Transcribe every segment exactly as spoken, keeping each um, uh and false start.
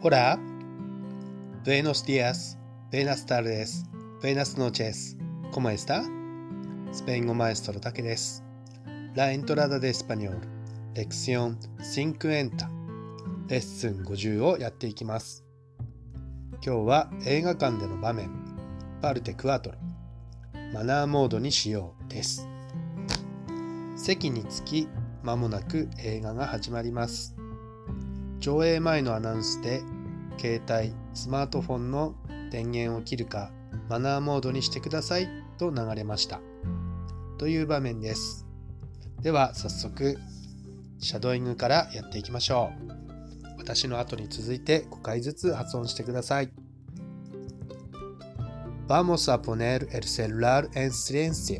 Hola, buenos días, buenas tardes, buenas noches, ¿cómo está? スペイン語マエストロタケです。La entrada de español, lección cincuenta、レッスンごじゅうをやっていきます。今日は映画館での場面、パルテクアトロ、マナーモードにしようです。席に着き、間もなく映画が始まります。上映前のアナウンスで、携帯、スマートフォンの電源を切るか、マナーモードにしてくださいと流れました。という場面です。では早速、シャドーイングからやっていきましょう。私の後に続いてごかいずつ発音してください。Vamos a poner el celular en silencio.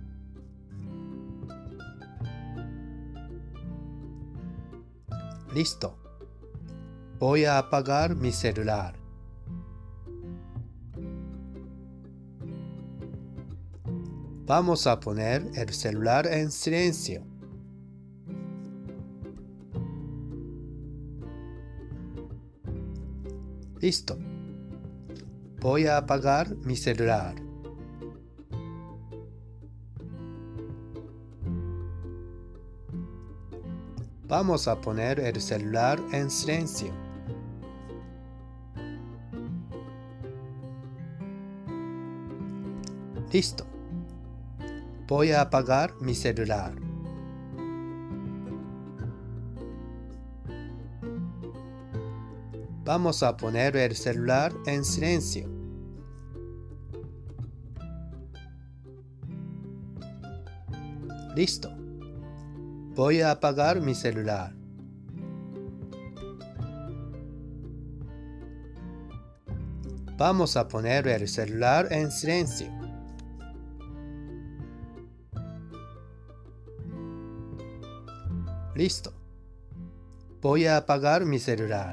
Listo. Voy a apagar mi celular. Vamos a poner el celular en silencio. Listo. Voy a apagar mi celular. Vamos a poner el celular en silencio. Listo. Voy a apagar mi celular. Vamos a poner el celular en silencio. Listo. Voy a apagar mi celular. Vamos a poner el celular en silencio. Listo. Voy a apagar mi celular.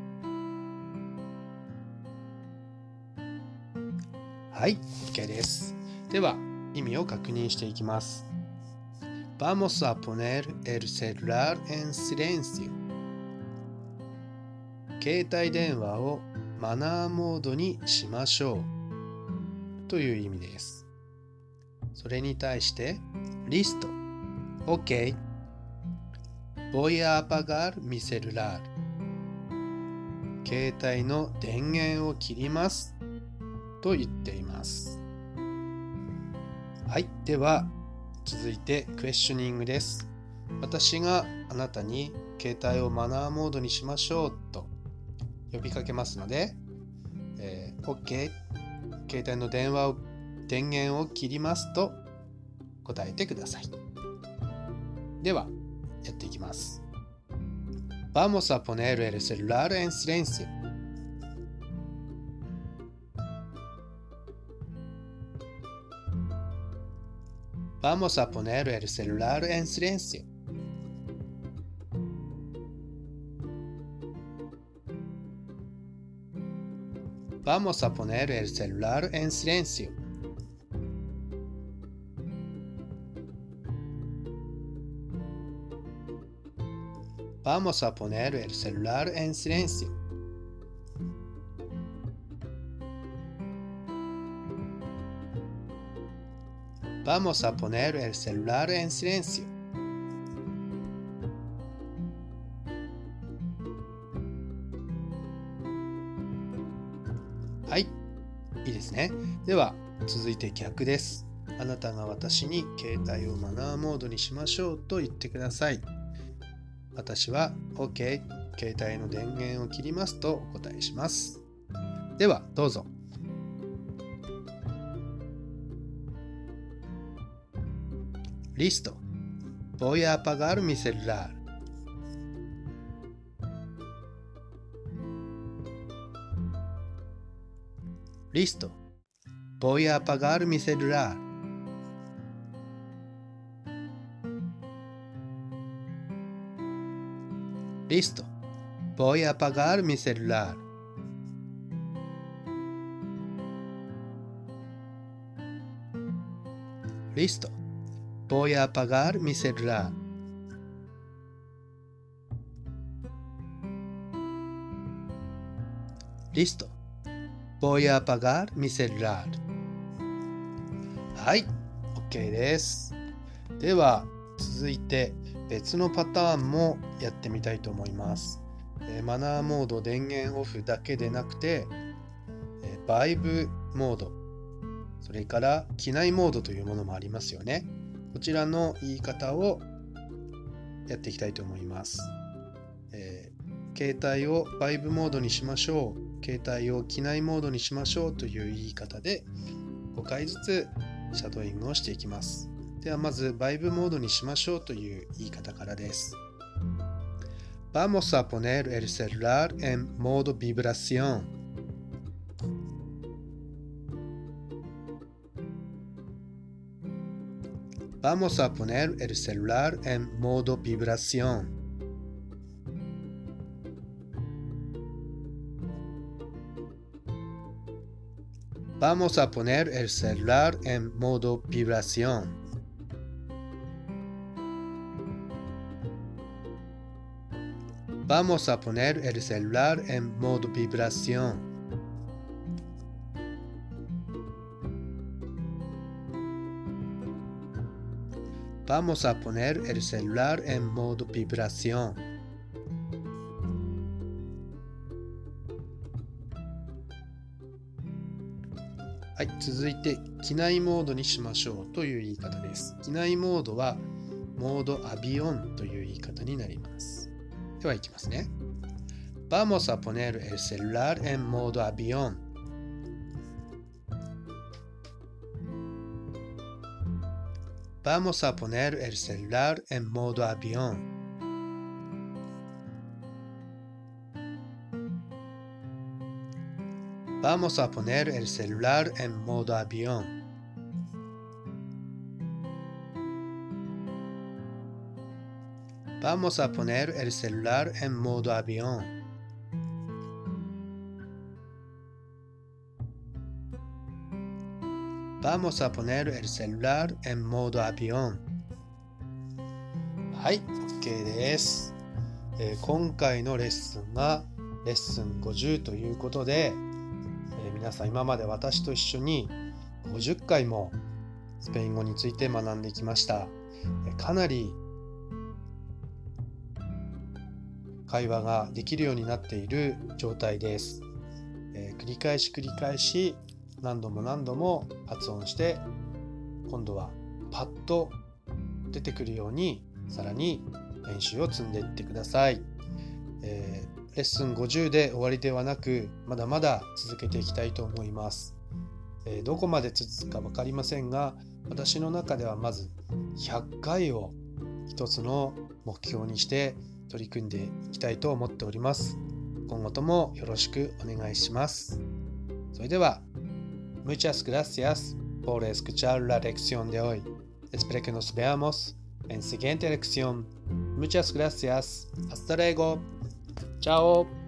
はい、OK です。では、意味を確認していきます。Vamos a poner el celular en silencio. 携帯電話をマナーモードにしましょうという意味です。それに対して、Listo. OK. Voy a apagar mi celular. 携帯の電源を切りますと言っています。はい、では続いてクエスチョニングです。私があなたに携帯をマナーモードにしましょうと呼びかけますので、えー、OK、携帯の電話を電源を切りますと答えてください。ではやっていきます。Vamos a poner el celular en silencio. Vamos a poner el celular en silencio. Vamos a poner el celular en silencio. Vamos a poner el celular en silencio. Vamos a poner el celular en silencio. はい、いいですね。では続いて逆です。あなたが私に携帯をマナーモードにしましょうと言ってください。私は OK、携帯の電源を切りますとお答えします。ではどうぞ。Listo. Voy a apagar mi celular. Listo. Voy a apagar mi celular. Listo. Voy a apagar mi celular. Listo. Voy a apagar mi celular. Listo. Voy a apagar mi celular. はい、OK です。では、続いて別のパターンもやってみたいと思います。えー、マナーモード電源オフだけでなくて、えー、バイブモード、それから機内モードというものもありますよね。こちらの言い方をやっていきたいと思います。えー、携帯をバイブモードにしましょう、携帯を機内モードにしましょうという言い方でごかいずつシャドーイングをしていきます。ではまずバイブモードにしましょうという言い方からです。Vamos a poner el celular en modo vibración. Vamos a poner el celular en modo vibración. Vamos a poner el celular en modo vibración. Vamos a poner el celular en modo vibración. Vamos a poner el celular en modo vibración. はい、続いて機内モードにしましょうという言い方です。機内モードはモードアビオンという言い方になります。ではいきますね。Vamos a poner el celular en modo avión. Vamos a poner el celular en modo avión. Vamos a poner el celular en modo avión. Vamos a poner el celular en modo avión. Vamos a poner el celular en modo avión. はい、OK です。えー、今回のレッスンがレッスンごじゅうということで、えー、皆さん今まで私と一緒にごじゅっかいもスペイン語について学んできました。えー、かなり会話ができるようになっている状態です。えー、繰り返し繰り返し何度も何度も発音して今度はパッと出てくるようにさらに練習を積んでいってください。えー、レッスンごじゅうで終わりではなくまだまだ続けていきたいと思います。えー、どこまで続くか分かりませんが私の中ではまずひゃっかいを一つの目標にして取り組んでいきたいと思っております。今後ともよろしくお願いします。それでは、Muchas gracias por escuchar la lección de hoy. Espero que nos veamos en siguiente lección. Muchas gracias. Hasta luego. Chao.